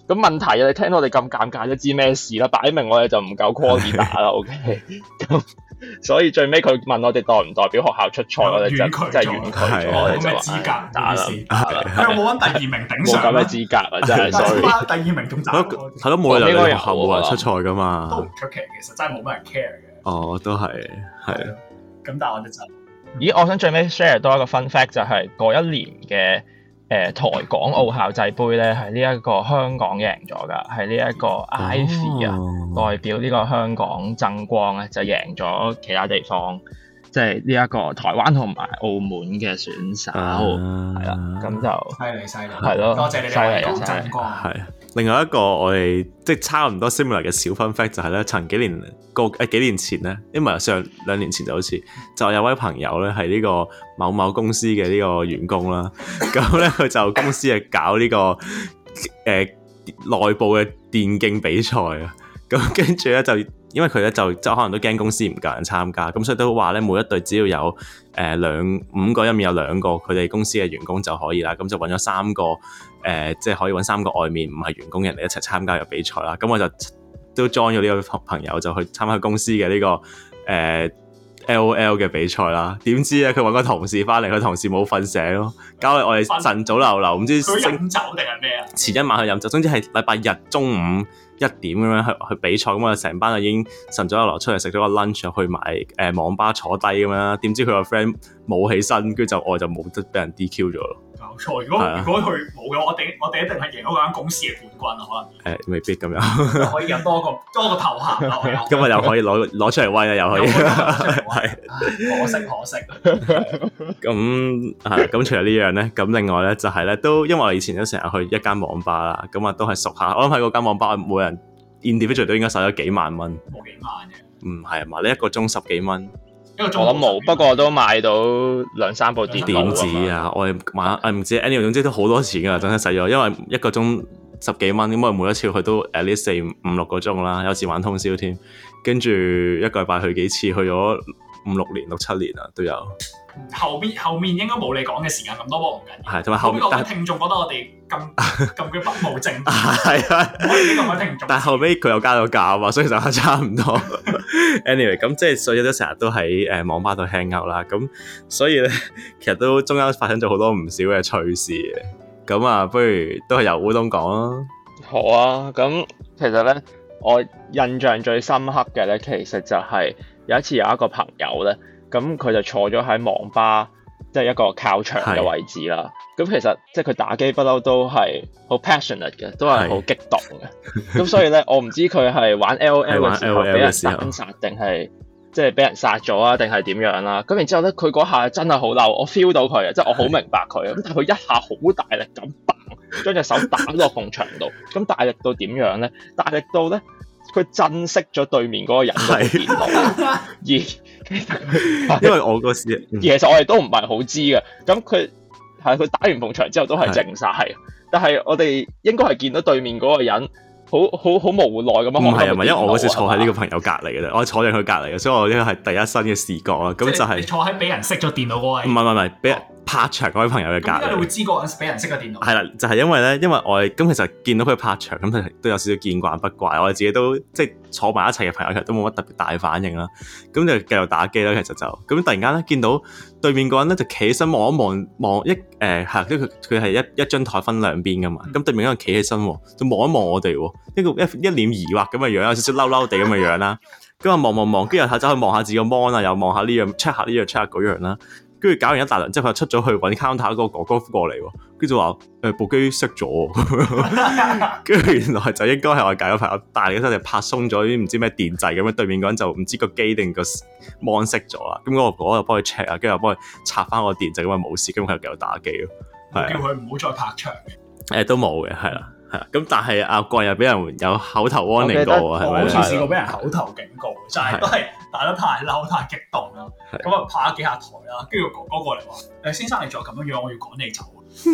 咁問題啊，你聽到我哋咁尷尬都知咩事啦，擺明我哋就唔夠 quality 打啦，OK，咁所以最尾佢問我哋代唔代表學校出賽，我哋就真係婉拒咗，我哋就話打啦， 佢有冇揾第二名頂上？ 冇咁嘅資格啊，真係 sorry。 第二名仲慘， 係咯，冇理由你學校冇人出賽噶嘛， 都唔出奇，其實真係冇乜人 care 嘅。 哦，都係係。 咁但係我哋就， 咦，我想最尾 share 多一個 fun fact 就係嗰一年嘅。誒、呃、台港澳校際杯咧，係呢一個香港贏咗㗎，係呢一個 Ivy 啊，哦、代表呢個香港爭光咧，就贏咗其他地方，即係呢一個台灣同埋澳門嘅選手，係啦、啊，咁就犀利犀利， 係咯， 多謝你哋香港爭光。 係另外一個我哋即係差唔多 similar 嘅小 fun fact 就係咧，曾幾年個誒幾年前咧，因為上兩年前就好似就有位朋友咧係呢個某某公司嘅呢個員工啦，咁咧佢就公司係搞呢、這個誒、呃、內部嘅電競比賽啊，咁跟住咧就因為佢咧就即係可能都驚公司唔夠人參加，咁所以都話咧每一隊只要有誒兩、呃、五個入面有兩個佢哋公司嘅員工就可以啦，咁就揾咗三個誒、呃、即係可以揾三個外面唔係員工嘅人嚟一齊參加個比賽啦，咁我就都 join 咗呢個朋友就去參加公司嘅呢、這個誒。呃L O L 嘅比賽啦，點知咧佢揾個同事翻嚟，佢同事冇瞓醒咯，搞到我哋晨早流流，唔知佢飲酒定係咩啊？ 前一晚去飲酒，總之係禮拜日中午一點咁樣去去比賽，咁我哋成班就已經晨早流流出嚟食咗個 lunch，去埋誒、呃、網吧坐低咁樣，點知佢個 friend 冇起身，跟住就我就冇得俾人 D Q 咗咯。冇錯，如果、啊、如果佢冇嘅話，我哋我哋一定係贏嗰間公司嘅冠軍啊！可能誒、欸、未必咁樣， 可以有多個多個頭銜咯。 今日又可以攞攞出嚟威啦，又可以係可惜可惜。 咁係咁，除咗呢樣咧，咁另外咧就係、是、咧，都因為我以前都成日去一間網吧啦，咁啊都係熟下。我諗喺嗰間網吧，每人 individual 都應該使咗幾萬蚊。 冇幾萬嘅。 唔係啊嘛，你一個鐘十幾蚊。 我諗冇，不過都買到兩三部電腦。 點止啊！我哋買誒唔知 anyway 總之都好多錢㗎，真係使咗。因為一個鐘十幾蚊，咁我每一次去都 at least 四五六個鐘啦，有時玩通宵添。跟住一個禮拜去幾次，去咗五六年、六七年啦，都有。 後邊後面應該冇你講嘅時間咁多，不過唔緊要。係， 同埋後面， 但係聽眾覺得我哋咁咁嘅不務正業。 係啊， 我哋呢個位聽眾。但係後尾佢又加咗價啊嘛，所以就差唔多。anyway， 咁即係所以都成日都喺誒網吧度 hang out 啦。咁所以咧，其實都中間發生咗好多唔少嘅趣事嘅。咁啊，不如都係由烏冬講啦。 好啊，咁其實咧，我印象最深刻嘅咧，其實就係有一次有一個朋友咧。咁佢就坐咗喺網吧，即係一個靠牆嘅位置啦。咁其實即係佢打機不嬲都係好 passionate 嘅，都係好激動嘅。咁所以咧，我唔知佢係玩 L O L 嘅時候俾人單殺，定係即係俾人殺咗啊，定係點樣啦？咁然之後咧，佢嗰下真係好嬲，我 feel 到佢啊，即係我好明白佢。咁但係佢一下好大力咁嘭，將隻手打落埲牆度。咁大力到點樣咧？大力到咧，佢震熄咗對面嗰個人嘅電腦，而因為我嗰時， 其實我哋都唔係好知嘅。咁佢係佢打完埲牆之後都係靜晒，係。但係我哋應該係見到對面嗰個人好好好無奈咁樣。唔係啊，唔係，因為我嗰時坐喺呢個朋友隔離嘅啫，我坐喺佢隔離嘅，所以我呢個係第一身嘅視覺啊。咁就係、是、 你坐喺俾人熄咗電腦嗰位。唔係唔係唔係，俾人拍牆嗰位朋友嘅隔離。點解你會知嗰陣俾人熄咗電腦？ 係啦，就係、是、因為咧，因為我哋咁其實見到佢拍牆，咁佢都有少少見慣不怪。我哋自己都即係坐埋一齊嘅朋友，其實都冇乜特別大反應啦。咁就繼續打機啦。其實就咁突然間咧，見到對面個人咧就企起身望一望望一誒係，跟住佢佢係一一張台分兩邊噶嘛。咁、嗯、對面嗰人企起身，就望一望我哋，一個一一臉疑惑咁嘅樣，有少少嬲嬲地咁嘅樣啦。咁啊望望望，跟住又走去望下自己個 mon 啊，又望下呢樣 check 下呢樣 check 下嗰樣啦。跟住搞完一大輪之後，佢出咗去揾 counter 嗰個哥哥過嚟，跟住就話誒部機熄咗，跟住原來就應該係我隔咗朋友大力嗰陣就拍鬆咗啲唔知咩電掣咁樣，對面嗰人就唔知個機定個 mon 熄咗啦。咁嗰個哥哥就幫佢 check 啊，跟住又幫佢插翻個電掣，咁啊冇事，咁佢又繼續打機咯。 叫佢唔好再拍牆嘅。誒都冇嘅，係啦。咁但係阿貴又俾人有口頭 warning 過喎，係咪？ 我好似試過俾人口頭警告，就係都係打得太嬲、太激動啦。咁啊拍咗幾下台啦，跟住哥哥過嚟話：誒先生，你再咁樣樣，我要趕你走。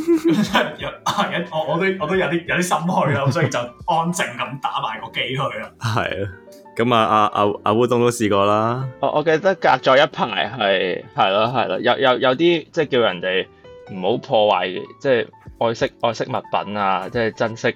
我我都我都有啲有啲心虛啦，所以就安靜咁打埋個機去啦。係啊， 咁啊阿阿阿烏冬都試過啦。 我我記得隔咗一排係係咯係咯，有有有啲即係叫人哋唔好破壞，即係。愛惜愛惜物品啊，即係珍惜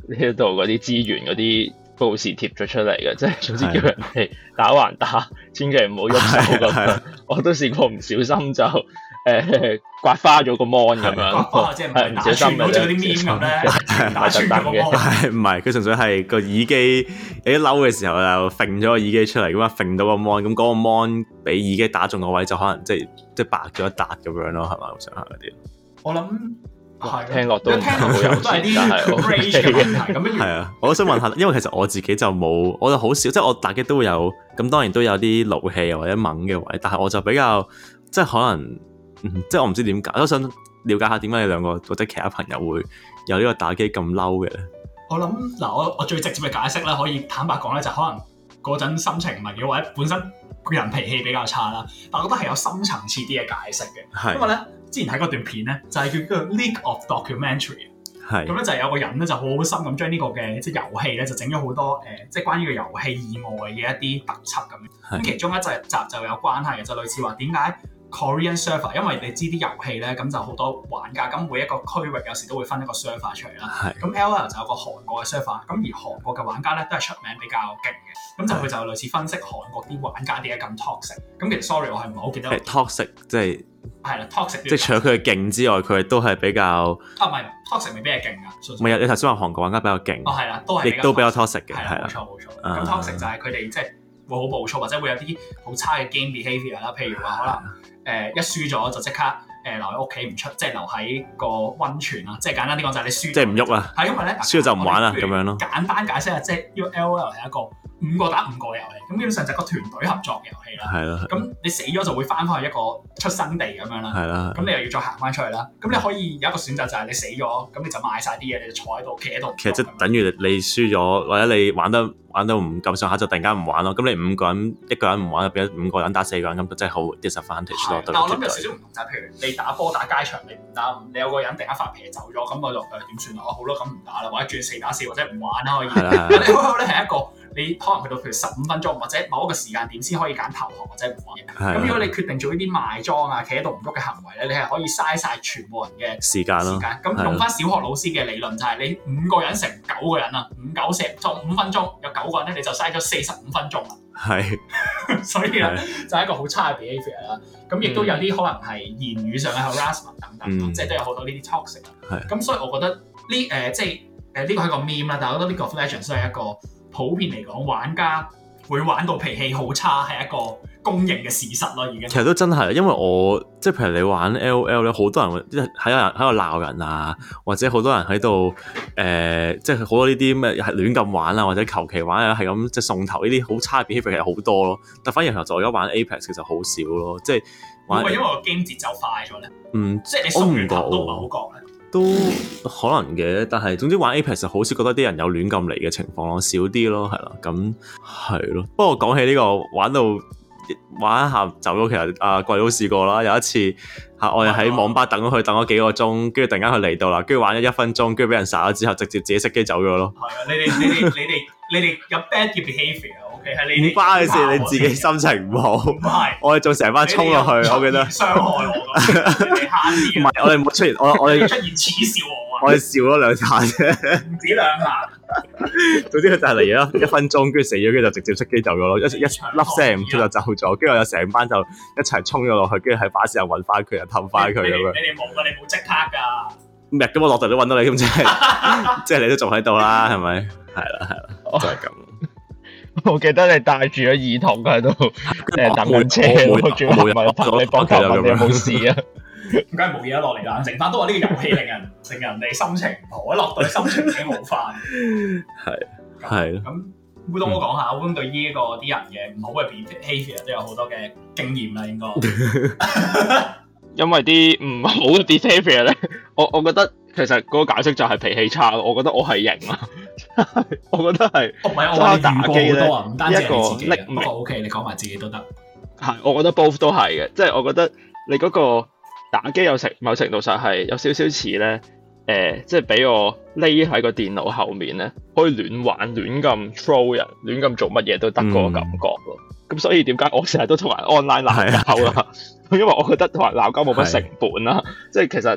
呢一度嗰啲資源嗰啲報時貼咗出嚟嘅，即係總之叫人哋打還打，千祈唔好喐手咁。我都試過唔小心就誒、呃、刮花咗個 mon 咁樣， 刮花即係唔小心好似嗰啲 meme 咁咧，打穿咗個 mon。 係唔係？佢純粹係個耳機你一嬲嘅時候就揈咗個耳機出嚟咁啊，揈到個 mon，咁嗰個 mon 俾耳機打中個位就可能即係即係白咗一笪咁樣咯，係咪咁上下嗰啲？ 我諗。係聽落都聽落好有，都係啲 range 嘅問題咁樣。 係啊，我都想問下，因為其實我自己就冇，我就好少，即係我打機都會有，咁當然都有啲怒氣或者猛嘅位，但係我就比較即係可能，嗯、即係我唔知點解，我都想了解下點解你兩個或者其他朋友會有呢個打機咁嬲嘅咧？我諗嗱，我我最直接嘅解釋咧，可以坦白講咧，就可能嗰陣心情唔係幾好，或者本身個人脾氣比較差啦。但我覺得係有深層次啲嘅解釋嘅，因為咧。之前睇嗰段片咧，就係、是、叫嗰個 League of Documentary。係。咁咧就係有個人咧就好好心咁將呢個嘅即係遊戲咧就整咗好多誒、呃，即係關於個遊戲以外嘅一啲特輯咁。咁其中一集集就有關係嘅，就類似話點解 Korean server， 因為你知啲遊戲咧咁就好多玩家，咁每一個區域有時都會分一個 server 出嚟啦。咁 L O L 就有個韓國嘅 server，咁而韓國嘅玩家咧都係出名比較勁嘅。咁就佢就類似分析韓國啲玩家點解咁 toxic。咁其實 sorry 我係唔係好記得。係 toxic 即係。係啦 ，toxic 即係除咗佢嘅勁之外，佢都係比較啊，唔係 toxic 未必係勁噶。唔係，你頭先話韓國玩家比較勁。哦，係啦，都係亦都比較 toxic 嘅，係啦，冇錯冇錯。咁 toxic 就係佢哋即係會好暴躁，或者會有啲好差嘅 game behaviour 啦。譬如話可能誒一輸咗就即刻誒留喺屋企唔出，即係留喺個溫泉啊。即係簡單啲講就係你輸，即係唔喐啊。係因為咧輸咗就唔玩啦咁樣咯。簡單解釋下，即係呢個 L O L 係一個五個打五個嘅遊戲，咁基本上就係個團隊合作嘅遊戲啦。係啦。咁你死咗就會翻返去一個出生地咁樣啦。係啦。咁你又要再行翻出去啦。咁你可以有一個選擇就係你死咗，咁你就賣晒啲嘢，你就坐喺度，企喺度。其實即係等於你輸咗，或者你玩得玩到唔夠上下就突然間唔玩咯。咁你五個人一個人唔玩，變咗五個人打四個人，咁就真係好 disadvantage 咯。但我諗有少少唔同就係，譬如你打波打街場，你唔打，你有個人突然間發脾氣走咗，咁我就誒點算啊？好咯，咁唔打啦，或者轉四打四，或者唔玩啦可以。係啦。你開口咧係一個。你可能去到譬如十五分鐘或者某一個時間點先可以揀投降或者唔玩嘅。咁如果你決定做呢啲賣裝啊、企喺度唔喐嘅行為咧，你係可以嘥晒全部人嘅時間咯。時間咁用翻小學老師嘅理論就係你五個人乘九個人啊，五九四就五分鐘有九個人咧，你就嘥咗四十五分鐘啦。係，所以咧就係一個好差嘅 behaviour 啦。咁亦都有啲可能係言語上嘅 harassment 等等，嗯、即係都有好多呢啲 toxic。係。咁所以我覺得呢誒、呃、即係誒呢個係個 meme 啦，但係我覺得呢個 League of Legends 都係一個。普遍嚟講，玩家會玩到脾氣好差，係一個公認嘅事實咯。已經其實都真係，因為我即係譬如你玩 L O L 咧，好多人會喺人喺度鬧人啊，或者好多人喺度誒，即係好多呢啲咩係亂咁玩啊，或者求其玩啊，係咁即係送頭呢啲好差嘅 behaviour 其實好多咯。但反而其實我而家玩 Apex 其實好少咯，即係會唔會因為個 game 節奏快咗咧？嗯，即係你送完頭都唔係好覺咧。都可能嘅，但係總之玩 Apex 好少覺得啲人有亂咁嚟嘅情況咯，少啲咯，係啦，咁係咯。不過講起呢、這個玩到玩一下走咗，其實阿貴都試過啦。有一次嚇，我哋喺網吧等咗佢等咗幾個鐘，跟住突然間佢嚟到啦，跟住玩咗一分鐘，跟住俾人殺咗之後，直接自己熄機走咗咯。係啊，你哋你哋你哋你哋有 bad behaviour，OK？係你唔關嘅事，你自己心情唔好。唔係，我哋仲成班衝落去，我記得傷害我。你哋慳啲。唔係，我哋冇出現，我我哋出現恥笑我啊！我哋笑咗兩下啫，唔止兩下。總之佢就係嚟咗一分鐘，跟住死咗，跟住就直接熄機走咗咯，一一粒聲唔出就走咗，跟住我有成班就一齊衝咗落去，跟住喺巴士又揾翻佢，又氹翻佢咁樣。你哋冇噶，你冇即刻噶。唔係咁，我落地都揾到你，咁即係即係你都仲喺度啦，係咪？係啦，係啦，就係咁。我記得你戴住咗耳筒喺度誒等緊車，我仲冇人拍你膊頭問你有冇事啊？點解冇嘢落嚟啦？剩翻都話呢個遊戲令人令人哋心情唔好，一落到你心情已經好翻。係係咁，烏冬我講下，烏冬對呢個啲人嘅唔好嘅 behaviour 都有好多嘅經驗啦，應該。 因為啲唔好嘅 behaviour 咧，我我覺得其實嗰個解釋就係脾氣差咯。我覺得我係型啊，我覺得係。唔係我話打機咧，唔單止係你自己。不過 OK，你講埋自己都得。係，我覺得 both 都係嘅，即係我覺得你嗰個。打機有程某程度上係有少少似咧，誒、呃，即係俾我匿喺個電腦後面咧，可以亂玩、亂咁 troll 人、亂咁做乜嘢都得嗰個感覺咯。咁、嗯、所以點解我成日都同人 online 鬧交啦？因為我覺得同人鬧交冇乜成本啦。即係其實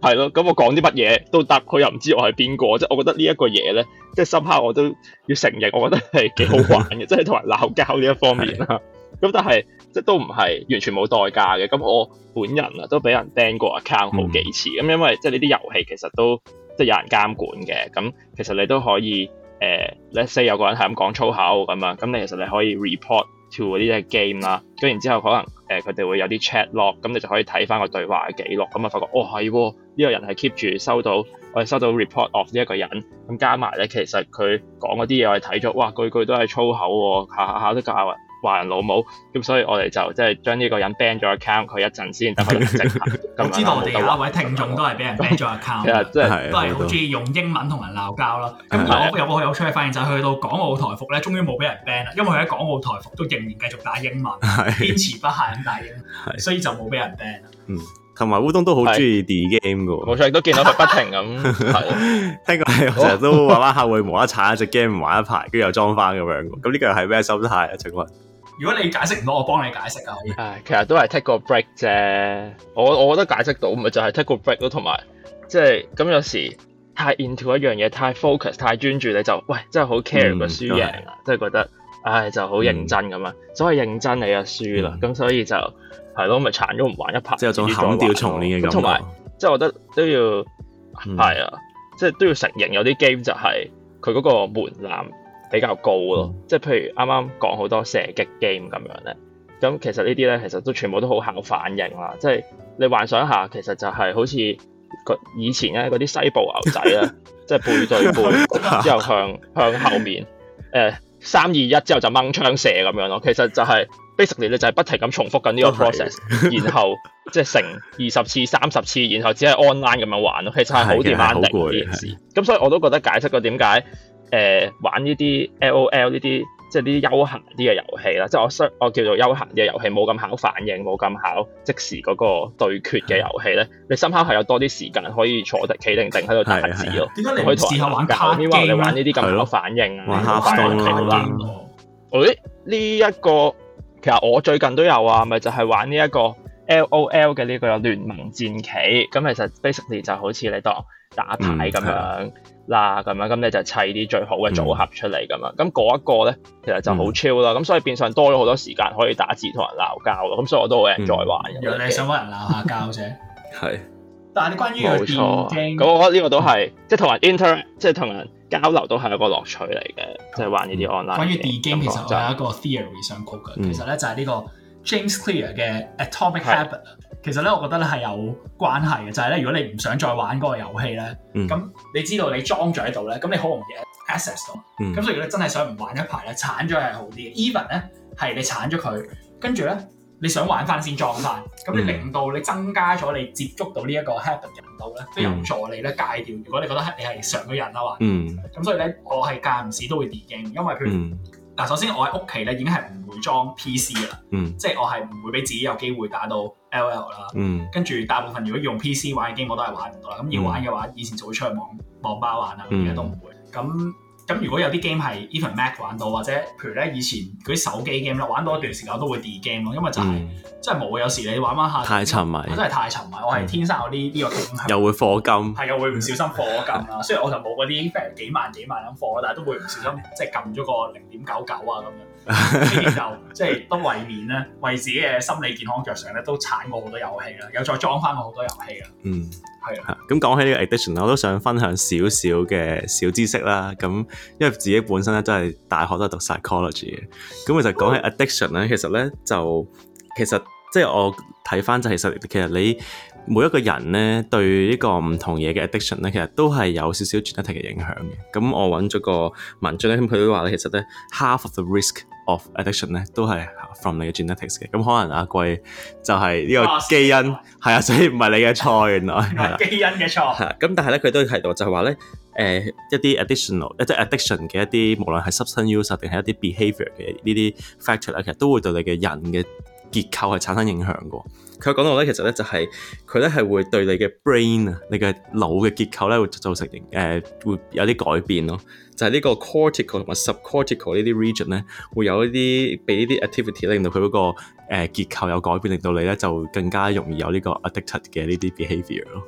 係咯，咁我講啲乜嘢都得，佢又唔知我係邊個，即係我覺得呢一個嘢咧，即係深刻我都要承認，我覺得係幾好玩嘅，即係同人鬧交呢一方面啦。咁但係即係都唔係完全冇代價嘅。咁我本人啊都俾人 ban 過 account 好幾次。咁、嗯、因為即係呢啲遊戲其實都即係有人監管嘅。咁其實你都可以誒、呃、let's say 有個人係咁講粗口咁啊，咁你其實你可以 report to 呢啲 game 啦。咁然之後可能誒佢哋會有啲 chat log，咁你就可以睇翻個對話嘅記錄。咁啊發覺哦係喎，呢、呢個人係 keep 住收到我哋收到 report of 呢一個人。咁加埋咧，其實佢講嗰啲嘢我哋睇咗，哇句句都係粗口喎，下下下都教人話人老母。咁所以我哋就即係將呢個人 ban 咗 account 佢一陣先，等佢冷靜下。 我知道我哋有一位聽眾都係俾人 ban 咗 account， 其實即係都係好中意用英文同人鬧交啦。咁我有個好有趣嘅發現就係去到港澳台服咧，終於冇俾人 ban 啦，因為佢喺港澳台服都仍然繼續打英文，堅持不懈咁打英文，所以就冇俾人 ban 啦。 嗯，同埋烏冬都好中意 D game 嘅喎， 冇錯，亦都見到佢不停咁。 聽講係成日都玩玩下會無啦啦踩一隻 game 玩一排，跟住又裝翻咁樣。咁呢個係咩心態啊？請問？ 如果你解釋唔到，我幫你解釋啊！可以。 唉，其實都係 take 個 break 啫。我我覺得解釋到，咪就係、是、take 個 break 咯。同埋即係咁有時太 into 一樣嘢，太 focus，太專注，你就喂真係好 care 個輸贏啊！即係、嗯、覺得唉就好認真咁啊。嗯、所謂認真你就輸啦。咁、嗯、所以就係咯，咪殘咗唔玩一排。即係有種砍掉重練嘅感覺。同埋即係我覺得都要係、嗯、啊，即、就、係、是、都要承認有啲 game 就係佢嗰個門檻比較高咯，即係、嗯、譬如啱啱講好多射擊 game 咁樣咧，咁其實呢啲咧其實都全部都好考反應啦，即係你幻想一下，其實就係好似以前咧嗰啲西部牛仔咧，即係背對背之後向向後面，誒三二一之後就掹槍射咁樣咯，其實就係 basically 你就係不停咁重複緊呢個 process，然後即係成二十次、三十次，然後只係 online 咁樣玩咯，其實係好 demanding 呢件事。咁所以我都覺得解釋過點解。誒、呃、玩呢啲 L O L 呢啲即係呢啲休閒啲嘅遊戲啦，即係我相我叫做休閒啲嘅遊戲，冇咁考反應，冇咁考即時嗰個對決嘅遊戲咧，你深刻係有多啲時間可以坐定企定定喺度打字咯。點解你可以試下玩卡 game 你玩呢啲咁考反應啊？玩 Hearthstone 啦。誒呢一個其實我最近都有啊，咪就係、是、玩呢一個 L O L 嘅呢個聯盟戰棋。咁其實 basically 就好似你當打牌咁樣啦，咁、嗯、樣咁你就砌啲最好嘅組合出嚟咁樣，咁嗰、嗯、一個咧其實就好 chill 啦，咁、嗯、所以變相多咗好多時間可以打字同人鬧交咯，咁所以我都好 enjoy 玩嘅。 原來你想揾人鬧下交啫，係。但係你關於個電競， 咁我覺得呢個都係、嗯、即係同人 interact，即係同人交流都係一個樂趣嚟嘅，即係玩呢啲 online。關於電競，其實我有一個 theory 想講嘅，嗯、其實咧就係呢個 James Clear 嘅 Atomic Habit。其實咧，我覺得咧係有關係嘅，就係、是、咧，如果你唔想再玩嗰個遊戲咧，咁、嗯、你知道你裝咗喺度咧，咁你好容易 access 到。咁、嗯、所以如果你真係想唔玩一排咧，鏟咗係好啲嘅。Even 咧係你鏟咗佢，跟住咧你想玩翻先裝翻，咁你令到你增加咗你接觸到呢一個 habit 嘅程度咧，都有助你咧戒掉。如果你覺得你係上咗癮啊嘛，咁、嗯、所以咧我係間唔時都會 de-game，因為譬如嗱，嗯、首先我喺屋企咧已經係唔會裝 P C 噶啦，嗯、即係我係唔會俾自己有機會打到 L O L 啦，嗯、跟住大部分如果用 P C 玩嘅 game 我都係玩唔到啦。咁要玩嘅話，以前就會出去網網吧玩啦，而家都唔會。咁咁如果有啲 game 係 even Mac 玩到，或者譬如咧以前嗰啲手機 game 咧玩到一段時間我都會 de-game 咯，因為就係、是嗯、真係冇有時你玩玩下太沉迷， 我真係太沉迷，我係天生有呢呢個傾向， 又會課金， 係又會唔小心課金啦。雖然我就冇嗰啲譬如幾萬幾萬咁課，但係都會唔小心即係撳咗個零點九九啊咁樣。呢啲就即係都為免咧，為自己嘅心理健康着想咧，都鏟過好多遊戲啦，又再裝翻過好多遊戲啦。嗯，係啊。咁講起呢個 addiction，我都想分享少少嘅小知識啦。咁因為自己本身咧都係大學都係讀 psychology 嘅，咁其實講起 addiction 咧，其實咧就其實即係我睇翻就其實其實你每一個人咧對呢個唔同嘢嘅 addiction 咧，其實都係有少少 genetic 嘅影響嘅。咁我揾咗個文章咧，咁佢都話咧，其實咧 half of the risk of addiction 咧都係 from 你嘅 genetics 嘅。咁可能阿貴就係呢個基因係啊，所以唔係你嘅錯，原來係基因嘅錯。係咁，但係咧佢都提到就係話咧，誒、呃、一啲 additional 一啲 addiction 嘅一啲，無論係 substance use 定係一啲 behaviour 嘅呢啲 factor 咧，其實都會對你嘅人嘅結構係產生影響嘅。佢講到咧，其實咧就係佢咧係會對你嘅 brain 啊，你嘅腦嘅結構咧會造成誒、呃、會有啲改變咯。就係、是、呢個 cortical 同埋 subcortical 呢啲 region 咧，會有一啲俾呢啲 activity 令到佢嗰個誒結構有改變，令到你咧就更加容易有呢個 addicted 嘅呢啲 behaviour 咯。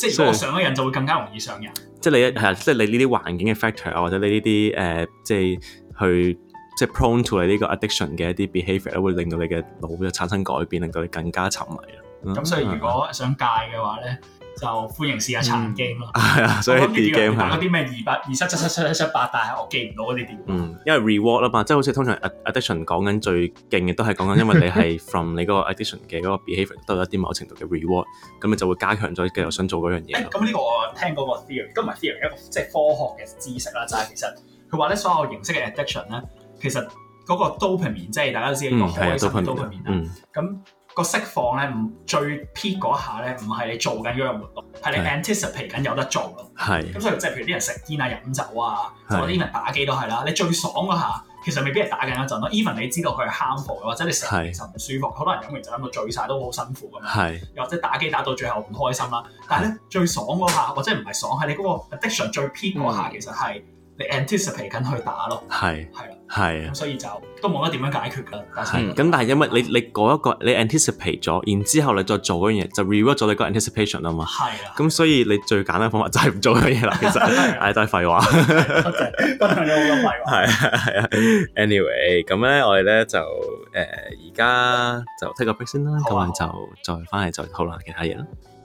即係如果我上咗癮就會更加容易上癮。 即係你係啊，即係你呢啲環境嘅 factor 啊，或者你呢啲誒，即係去即係 prone to 你呢個 addiction 嘅一啲 behaviour 咧，會令到你嘅腦就產生改變，令到你更加沉迷啦。 咁所以如果想戒嘅話咧，就歡迎試下殘 game 咯。 係啊，所以 D game 係嗰啲咩二八二七七七七七七八，但係我記唔到嗰啲點。 嗯，因為 reward 啊嘛，即係好似通常 addiction 講緊最勁嘅都係講緊，因為你係 from 你嗰個 addiction 嘅嗰個 behaviour 都有一啲某程度嘅 reward，咁你就會加強咗繼續想做嗰樣嘢。 咁呢個我聽過個 theory，都唔係 theory，一個即係科學嘅知識啦，就係、是、其實佢話咧所有形式嘅 addiction 咧，其實嗰個 dopamine 即係大家都知呢個開心嘅 dopamine 啦，咁。個釋放咧，唔最 peak 嗰下咧，唔係你做緊嗰樣活動，係你 anticipate 緊有得做咯。係。咁所以即係譬如啲人食煙啊、飲酒啊，或者 even 打機都係啦。你最爽嗰下，其實未必係打緊一陣咯。even 你知道佢係 harmful 嘅，或者你食完其實唔舒服，好多人飲完就飲到醉晒，都好辛苦咁樣。係。又或者打機打到最後唔開心啦。但係咧最爽嗰下，或者唔係爽，係你嗰個 addiction 最 peak 嗰下，其實係你 anticipate 緊去打咯。係。係啦。係啊，所以就都冇得點樣解決㗎。係咁，但係因為你你嗰一個你 anticipate 咗，然之後你再做嗰樣嘢，就 reward 咗你個 anticipation 啊嘛。係啊。咁所以你最簡單嘅方法就係唔做嗰樣嘢啦。其實係都係廢話。 多謝，分享咗好多廢話。 係啊係啊。Anyway，咁咧我哋咧就誒而家就 take 個 break 先啦，咁我就再翻嚟再討論其他嘢啦。